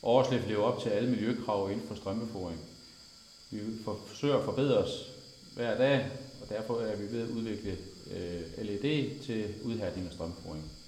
Årslev lever op til alle miljøkrav inden for strømbeforing. Vi forsøger at forbedre os hver dag, og derfor er vi ved at udvikle LED til udhærdning af strømbeforing.